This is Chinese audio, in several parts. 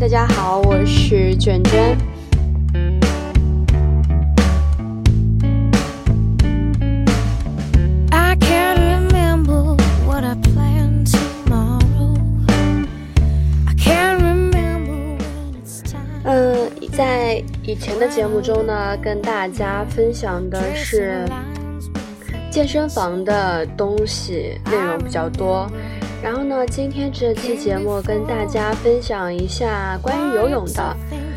大家好，我是卷卷。在以前的节目中呢，跟大家分享的是健身房的东西，内容比较多。然后呢，今天这期节目跟大家分享一下关于游泳的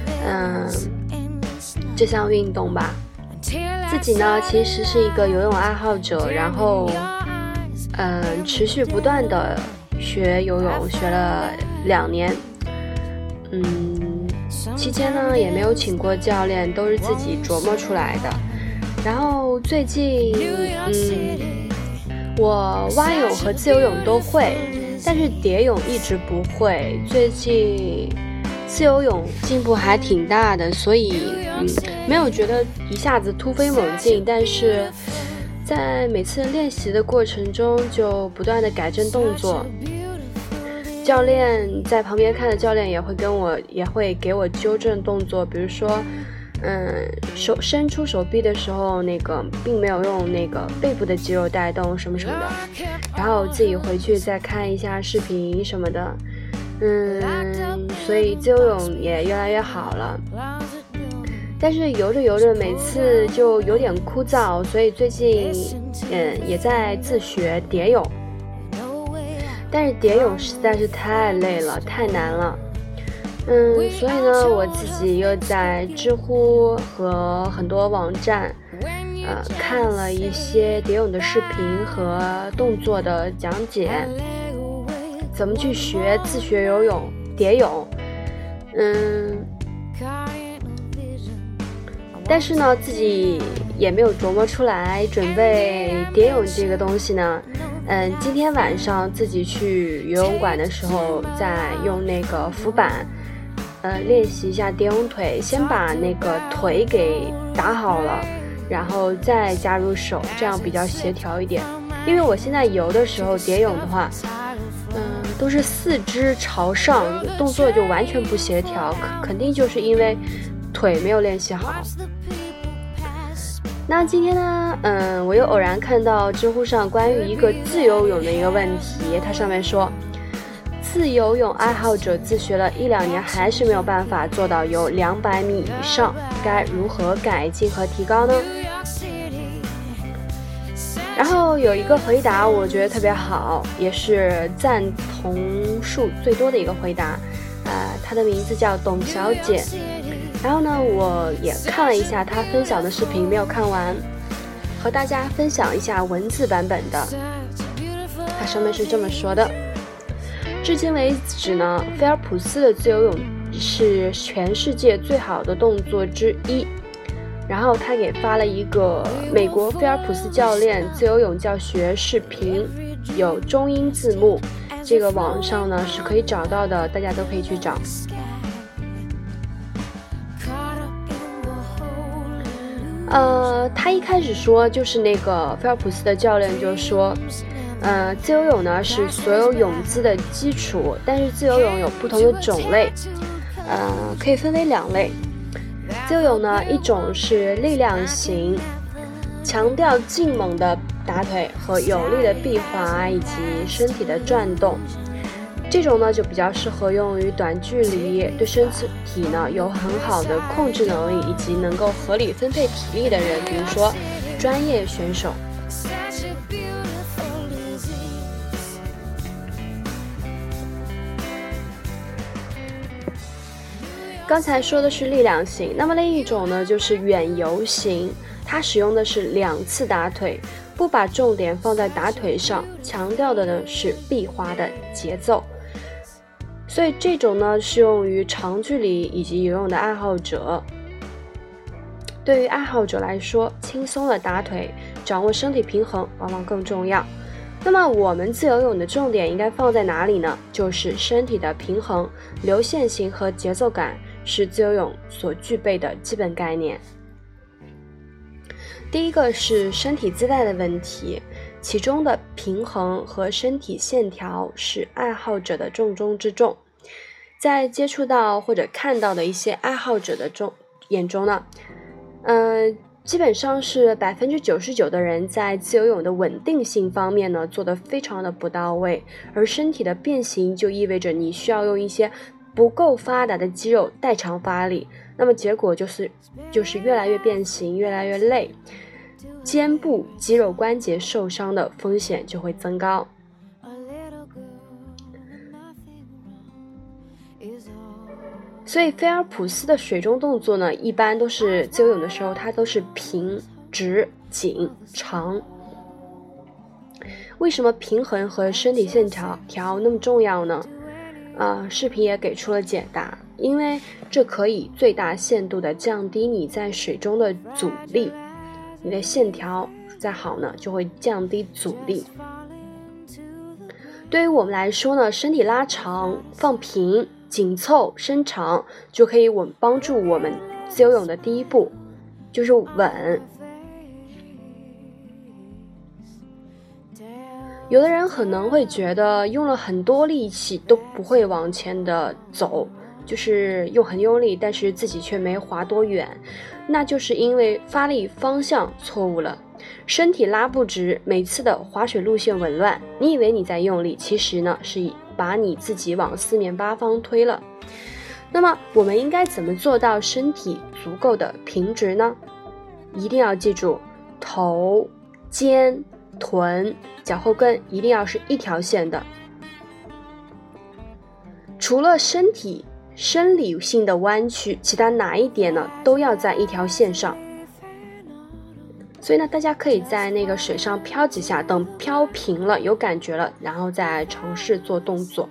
这项运动吧。自己呢其实是一个游泳爱好者，然后持续不断的学游泳，学了2年。期间呢也没有请过教练，都是自己琢磨出来的。然后最近我蛙泳和自由泳都会，但是蝶泳一直不会。最近自由泳进步还挺大的，所以没有觉得一下子突飞猛进，但是在每次练习的过程中就不断的改正动作。教练在旁边看的教练也会给我纠正动作，比如说伸出手臂的时候并没有用背部的肌肉带动什么什么的，然后自己回去再看一下视频什么的。所以自由泳也越来越好了，但是游着游着每次就有点枯燥，所以最近也在自学蝶泳。但是蝶泳实在是太累了，太难了。所以呢，我自己又在知乎和很多网站看了一些蝶泳的视频和动作的讲解，怎么去自学游泳蝶泳。但是呢，自己也没有琢磨出来准备蝶泳这个东西呢。今天晚上自己去游泳馆的时候，再用浮板练习一下蝶泳腿，先把腿给打好了，然后再加入手，这样比较协调一点。因为我现在游的时候蝶泳的话都是4肢朝上，动作就完全不协调，肯定就是因为腿没有练习好。那今天呢我又偶然看到知乎上关于一个自由泳的一个问题，它上面说，自由泳爱好者自学了1-2年还是没有办法做到游200米以上，该如何改进和提高呢？然后有一个回答我觉得特别好，也是赞同数最多的一个回答，她的名字叫董小姐。然后呢，我也看了一下她分享的视频，没有看完，和大家分享一下文字版本的。它上面是这么说的：至今为止呢，菲尔普斯的自由泳是全世界最好的动作之一。然后他给发了一个美国菲尔普斯教练自由泳教学视频，有中英字幕，这个网上呢是可以找到的，大家都可以去找。他一开始说就是菲尔普斯的教练就说自由泳呢是所有泳姿的基础，但是自由泳有不同的种类，可以分为2类。自由泳呢，一种是力量型，强调劲猛的打腿和有力的臂滑以及身体的转动，这种呢就比较适合用于短距离，对身体呢有很好的控制能力以及能够合理分配体力的人，比如说专业选手。刚才说的是力量型，那么另一种呢就是远游型，它使用的是2次打腿，不把重点放在打腿上，强调的呢是臂滑的节奏。所以这种呢适用于长距离以及游泳的爱好者。对于爱好者来说，轻松的打腿，掌握身体平衡往往更重要。那么我们自由泳的重点应该放在哪里呢？就是身体的平衡、流线型和节奏感是自由泳所具备的基本概念。第一个是身体姿态的问题，其中的平衡和身体线条是爱好者的重中之重。 在接触到或者看到的一些爱好者的眼中呢，基本上是99%的人在自由泳的稳定性方面呢做得非常的不到位，而身体的变形就意味着你需要用一些不够发达的肌肉代偿发力，那么结果就是越来越变形，越来越累，肩部肌肉关节受伤的风险就会增高。所以菲尔普斯的水中动作呢，一般都是自由泳的时候，它都是平、直、紧、长。为什么平衡和身体线条那么重要呢？视频也给出了解答，因为这可以最大限度的降低你在水中的阻力，你的线条再好呢，就会降低阻力。对于我们来说呢，身体拉长、放平、紧凑、伸长，就可以帮助我们自由泳的第一步，就是稳。有的人可能会觉得用了很多力气都不会往前的走，就是又很用力，但是自己却没滑多远，那就是因为发力方向错误了，身体拉不直，每次的划水路线紊乱，你以为你在用力，其实呢是把你自己往四面八方推了。那么我们应该怎么做到身体足够的平直呢？一定要记住，头、肩、臀、脚后跟一定要是一条线的。除了身体生理性的弯曲，其他哪一点呢都要在一条线上。所以呢，大家可以在那个水上漂几下，等漂平了有感觉了，然后再尝试做动作。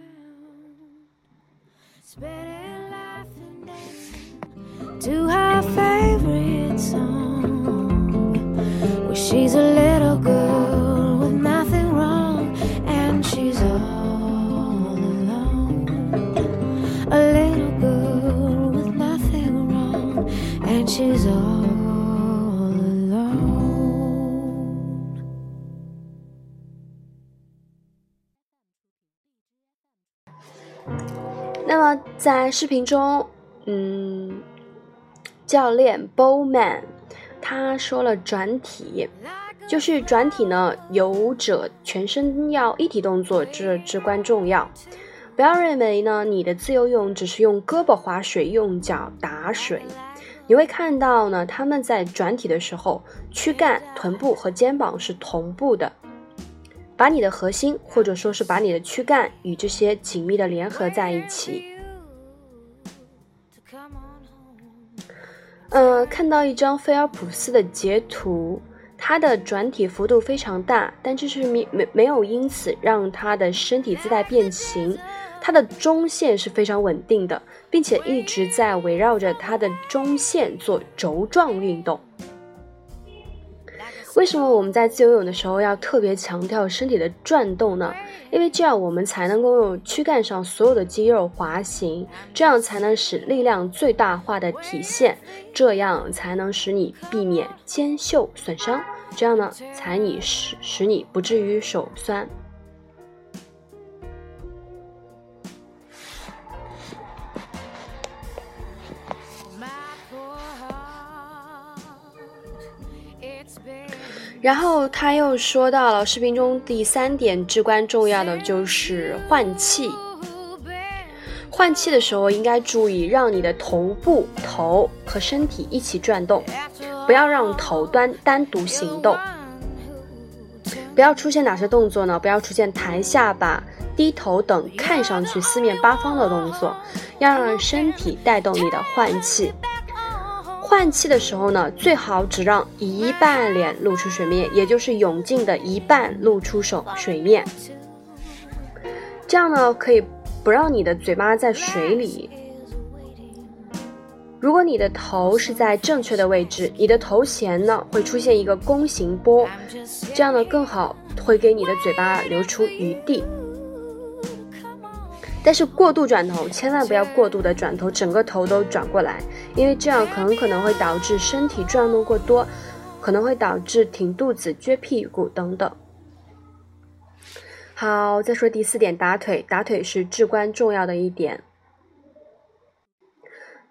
To her favorite song, where she's a little girl with nothing wrong, and she's all alone. A little girl with nothing wrong, and she's all alone. 那么在视频中，教练 Bowman 他说了转体，就是转体呢，游者全身要一体动作，这至关重要。不要认为呢，你的自由泳只是用胳膊划水，用脚打水。你会看到呢，他们在转体的时候，躯干、臀部和肩膀是同步的，把你的核心或者说是把你的躯干与这些紧密的联合在一起。看到一张菲尔普斯的截图，他的转体幅度非常大，但这是没有因此让他的身体姿态变形，他的中线是非常稳定的，并且一直在围绕着他的中线做轴状运动。为什么我们在自由泳的时候要特别强调身体的转动呢？因为这样我们才能够用躯干上所有的肌肉滑行，这样才能使力量最大化的体现，这样才能使你避免肩袖损伤，这样呢才使你不至于手酸。然后他又说到了视频中第3点至关重要的就是换气。换气的时候应该注意让你的头和身体一起转动，不要让头单独行动。不要出现哪些动作呢？不要出现抬下巴、低头等看上去四面八方的动作，要让身体带动你的换气。换气的时候呢，最好只让一半脸露出水面，也就是泳镜的一半露出水面。这样呢，可以不让你的嘴巴在水里。如果你的头是在正确的位置，你的头衔呢会出现一个弓形波，这样呢更好会给你的嘴巴留出余地。但是过度转头，千万不要过度的转头，整个头都转过来，因为这样可能会导致身体转动过多，可能会导致挺肚子、撅屁股等等。好，再说第4点，打腿是至关重要的一点。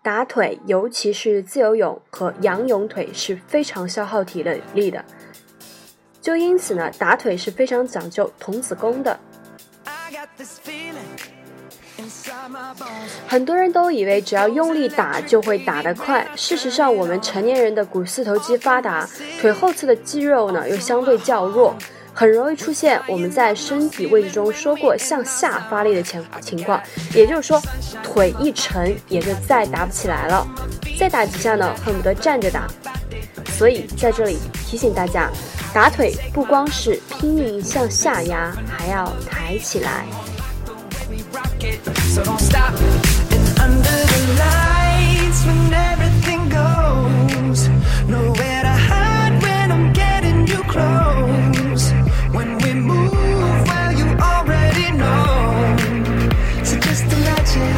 打腿，尤其是自由泳和仰泳腿是非常消耗体力的，就因此呢，打腿是非常讲究童子功的。很多人都以为只要用力打就会打得快，事实上我们成年人的股四头肌发达，腿后侧的肌肉呢又相对较弱，很容易出现我们在身体位置中说过向下发力的情况，也就是说腿一沉也就再打不起来了，再打几下呢恨不得站着打。所以在这里提醒大家，打腿不光是拼命向下压，还要抬起来。 So don't stop. And under the lights, when everything goes, nowhere to hide when I'm getting you close. When we move, well, you already know. So just imagine.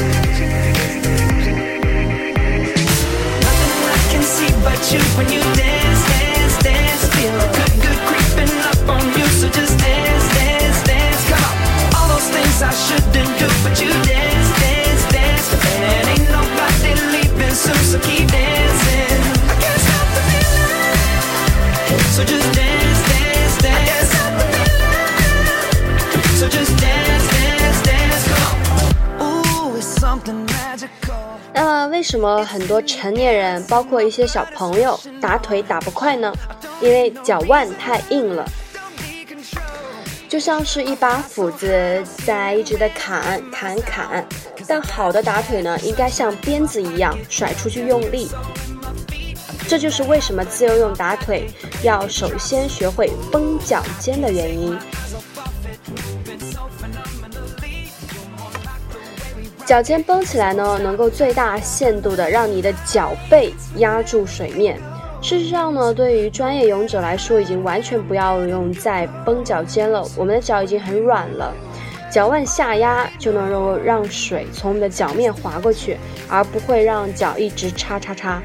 Nothing I can see but you when you dance, dance, dance. Feel good creeping up on you. So just dance, dance, dance. Come on. All those things I shouldn't do, but you dance, dance, dance. And ain't nobody leaving soon, so keep dancing. I can't stop the feeling. So just dance, dance, dance. I can't stop the feeling. So just dance, dance, dance. Come on. Ooh, it's something magical. 那么为什么很多成年人包括一些小朋友打腿打不快呢？因为脚腕太硬了，就像是一把斧子在一直的砍，但好的打腿呢，应该像鞭子一样甩出去用力。这就是为什么自由泳打腿要首先学会绷脚尖的原因。脚尖绷起来呢，能够最大限度的让你的脚背压住水面。事实上呢，对于专业泳者来说，已经完全不要用再绷脚尖了，我们的脚已经很软了，脚腕下压就能够让水从我们的脚面滑过去，而不会让脚一直叉。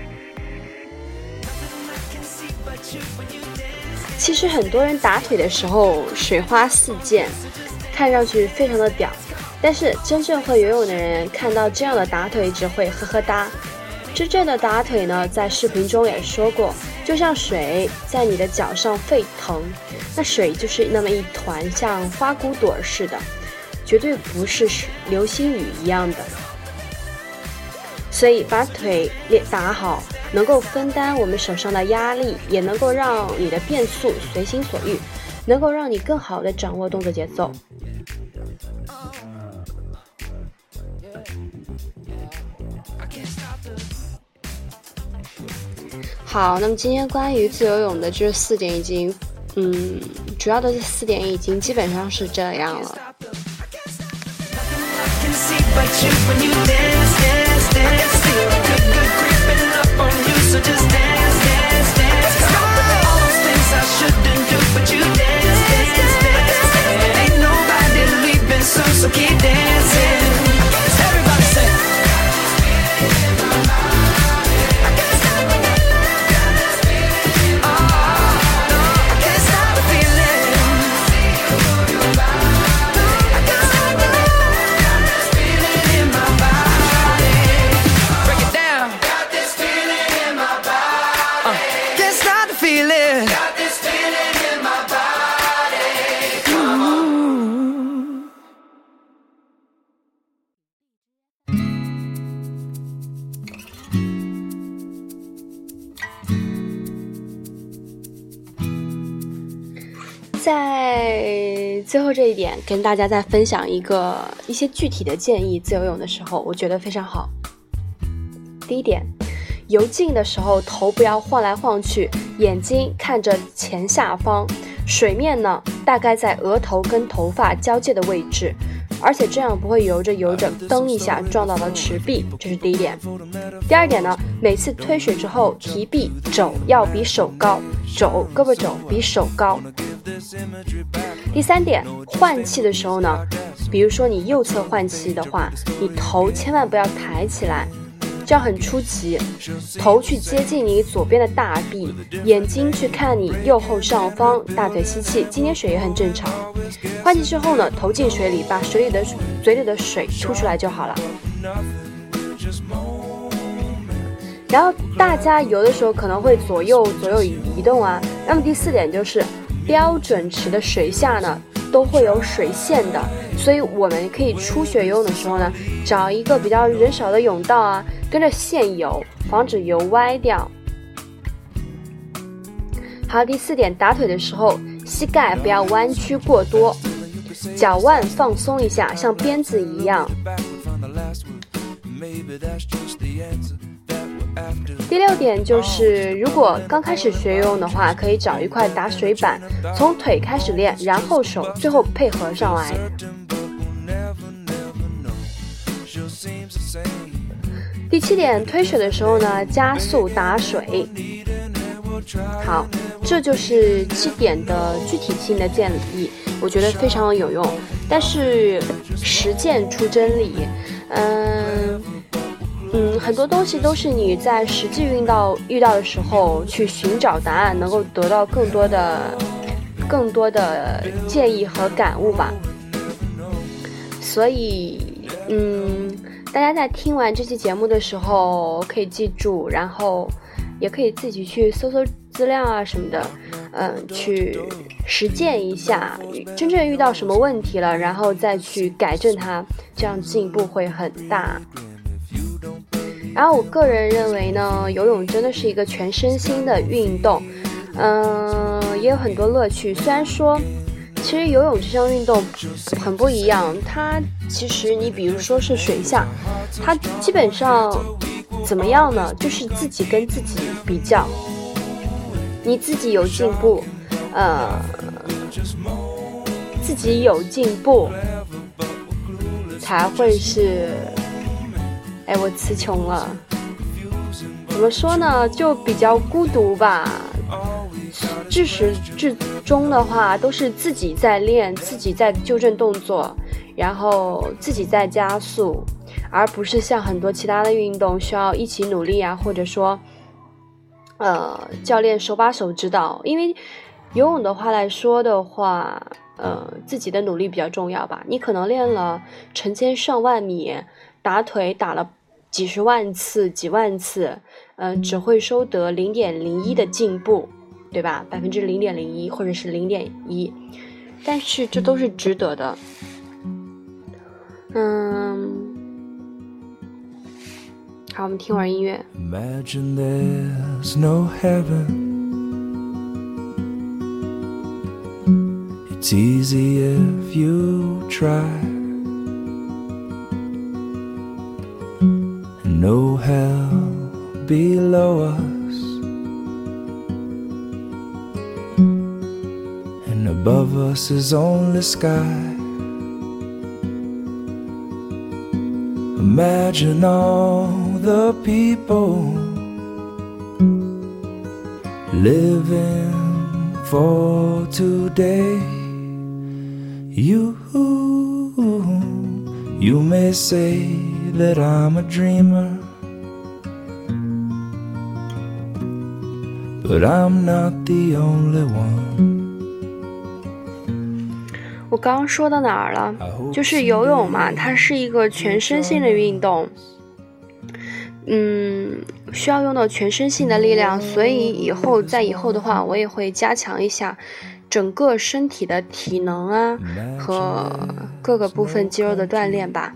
其实很多人打腿的时候水花四溅，看上去非常的屌，但是真正会游泳的人看到这样的打腿只会呵呵哒。真正的打腿呢，在视频中也说过，就像水在你的脚上沸腾，那水就是那么一团像花骨朵似的，绝对不是流星雨一样的。所以把腿打好，能够分担我们手上的压力，也能够让你的变速随心所欲，能够让你更好的掌握动作节奏。好，那么今天关于自由泳的这4点已经，主要的这4点已经基本上是这样了。在最后这一点跟大家再分享一些具体的建议，自由泳的时候我觉得非常好。第一点，游进的时候头不要晃来晃去，眼睛看着前下方，水面呢大概在额头跟头发交界的位置，而且这样不会游着蹬一下撞到了池壁，这是第一点。第二点呢，每次推水之后提臂肘要比手高，胳膊肘比手高。第三点，换气的时候呢，比如说你右侧换气的话，你头千万不要抬起来，这样很出奇，头去接近你左边的大臂，眼睛去看你右后上方，大腿吸气，今天水也很正常。换气之后呢，头进水里，把嘴里的水吐出来就好了。 然后大家游的时候可能会左右移动啊。那么第4点就是标准池的水下呢都会有水线的，所以我们可以初学游泳的时候呢，找一个比较人少的泳道啊，跟着线游，防止游歪掉。好，第4点，打腿的时候膝盖不要弯曲过多，脚腕放松一下，像鞭子一样。第6点就是，如果刚开始学游泳的话，可以找一块打水板，从腿开始练，然后手，最后配合上来。第7点，推水的时候呢，加速打水。好，这就是7点的具体性的建议，我觉得非常有用。但是实践出真理，很多东西都是你在实际遇到的时候去寻找答案，能够得到更多的建议和感悟吧。所以大家在听完这期节目的时候可以记住，然后也可以自己去搜资料啊什么的，去实践一下，真正遇到什么问题了，然后再去改正它，这样进步会很大。然后我个人认为呢，游泳真的是一个全身心的运动，也有很多乐趣。虽然说其实游泳这项运动很不一样，它其实你比如说是水下，它基本上怎么样呢，就是自己跟自己比较，你自己有进步，自己有进步才会是，我词穷了，怎么说呢，就比较孤独吧。至始至终的话都是自己在练，自己在纠正动作，然后自己在加速，而不是像很多其他的运动需要一起努力啊，或者说教练手把手指导。因为游泳的话来说的话，自己的努力比较重要吧。你可能练了成千上万米，打腿打了几十万次几万次，只会收得 0.01 的进步，对吧？ 0.01% 或者是 0.1%， 但是这都是值得的。好，我们听会儿音乐。 Imagine there's no heaven. It's easy if you try. And no hell below us. And above us is only sky. Imagine all the people living for today. You may say that I'm a dreamer, but I'm not the only one. 我刚刚说到哪儿了？就是游泳嘛，它是一个全身性的运动，需要用到全身性的力量，所以以后的话，我也会加强一下整个身体的体能啊和各个部分肌肉的锻炼吧。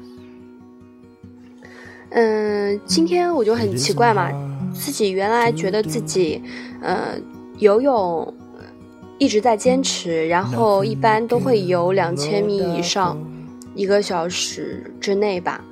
今天我就很奇怪嘛，自己原来觉得自己游泳一直在坚持，然后一般都会游2000米以上，1个小时之内吧。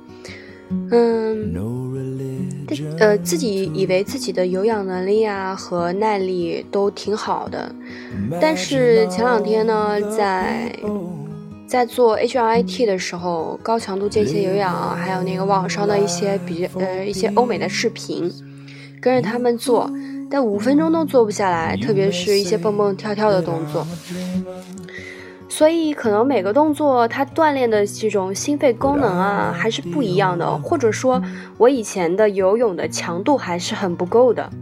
自己以为自己的有氧能力啊和耐力都挺好的，但是前2天呢，在做 HIIT 的时候，高强度间歇有氧，还有那个网上的一些欧美的视频，跟着他们做，但5分钟都做不下来，特别是一些蹦蹦跳跳的动作。所以可能每个动作它锻炼的这种心肺功能啊还是不一样的，或者说我以前的游泳的强度还是很不够的。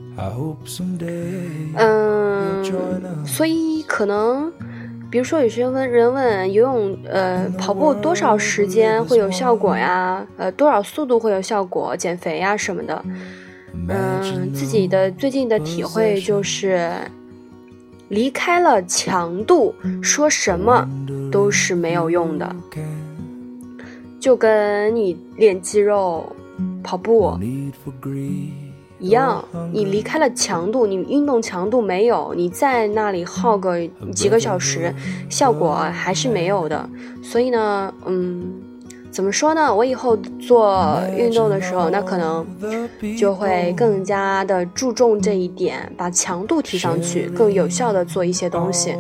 所以可能比如说有些人问游泳跑步多少时间会有效果呀，多少速度会有效果，减肥呀什么的。 自己的最近的体会就是离开了强度，说什么都是没有用的。就跟你练肌肉、跑步一样，你离开了强度，你运动强度没有，你在那里耗个几个小时，效果还是没有的。所以呢，怎么说呢？我以后做运动的时候，那可能就会更加的注重这一点，把强度提上去，更有效的做一些东西。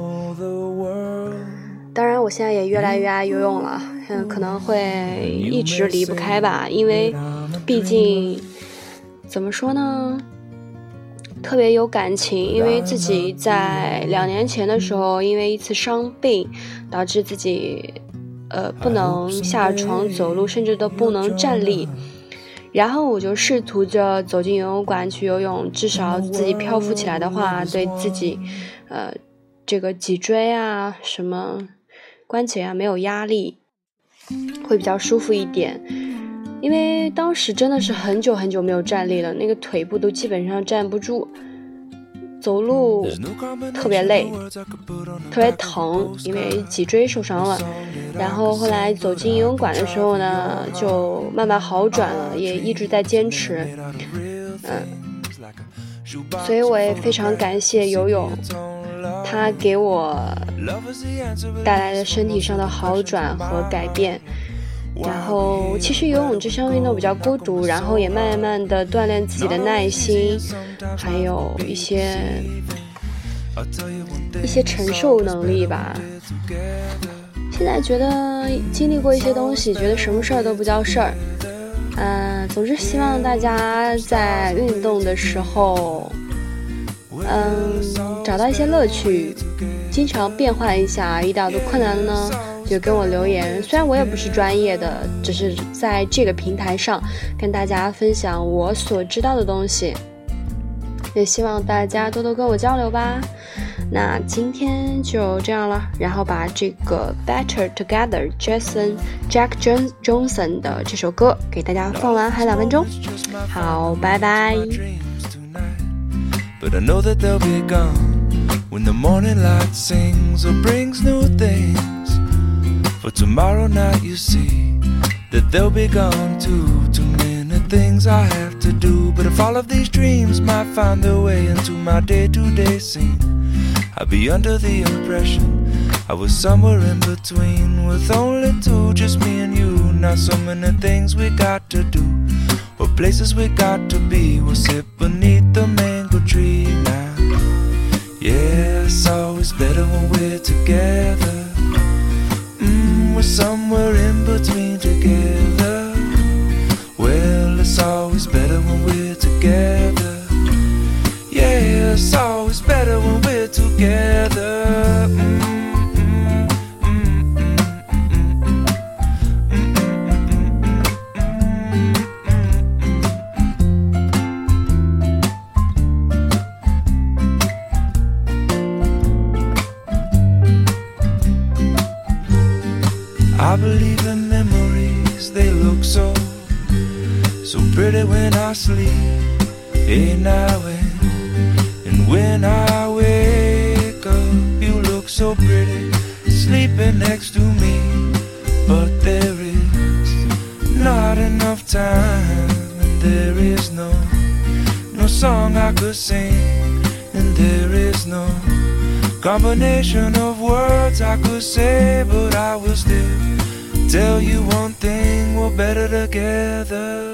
当然，我现在也越来越爱游泳了，可能会一直离不开吧，因为毕竟怎么说呢，特别有感情，因为自己在2年前的时候，因为一次伤病，导致自己不能下床走路，甚至都不能站立。然后我就试图着走进游泳馆去游泳，至少自己漂浮起来的话，对自己这个脊椎啊什么关节啊没有压力，会比较舒服一点。因为当时真的是很久很久没有站立了，那个腿部都基本上站不住，走路特别累，特别疼，因为脊椎受伤了。然后后来走进游泳馆的时候呢，就慢慢好转了，也一直在坚持。所以我也非常感谢游泳，它给我带来的身体上的好转和改变。然后其实游泳这项运动比较孤独，然后也慢慢的锻炼自己的耐心，还有一些承受能力吧。现在觉得经历过一些东西，觉得什么事儿都不叫事儿。总之希望大家在运动的时候找到一些乐趣，经常变换一下。遇到的困难的呢，就跟我留言，虽然我也不是专业的，只是在这个平台上跟大家分享我所知道的东西，也希望大家多多跟我交流吧。那今天就这样了，然后把这个 Better Together Jack Johnson 的这首歌给大家放完，还2分钟。好，拜拜。 But I know that they'll be gone when the morning light sings or brings new things. For tomorrow night you see that they'll be gone too. Too many things I have to do. But if all of these dreams might find their way into my day-to-day scene, I'd be under the impression I was somewhere in between, with only two, just me and you. Not so many things we got to do, or places we got to be. We'll sit beneath the mango tree now. Yeah, it's always better when we're together. We're somewhere in between together. Well, it's always better when we're together. Yeah, it's always better when we're together. I believe in memories, they look so pretty when I sleep. Hey, now and when I wake up, you look so pretty sleeping next to me. But there is not enough time, and there is no song I could sing, and there is no combination of words I could say. But I will still tell you one thing, we're better together.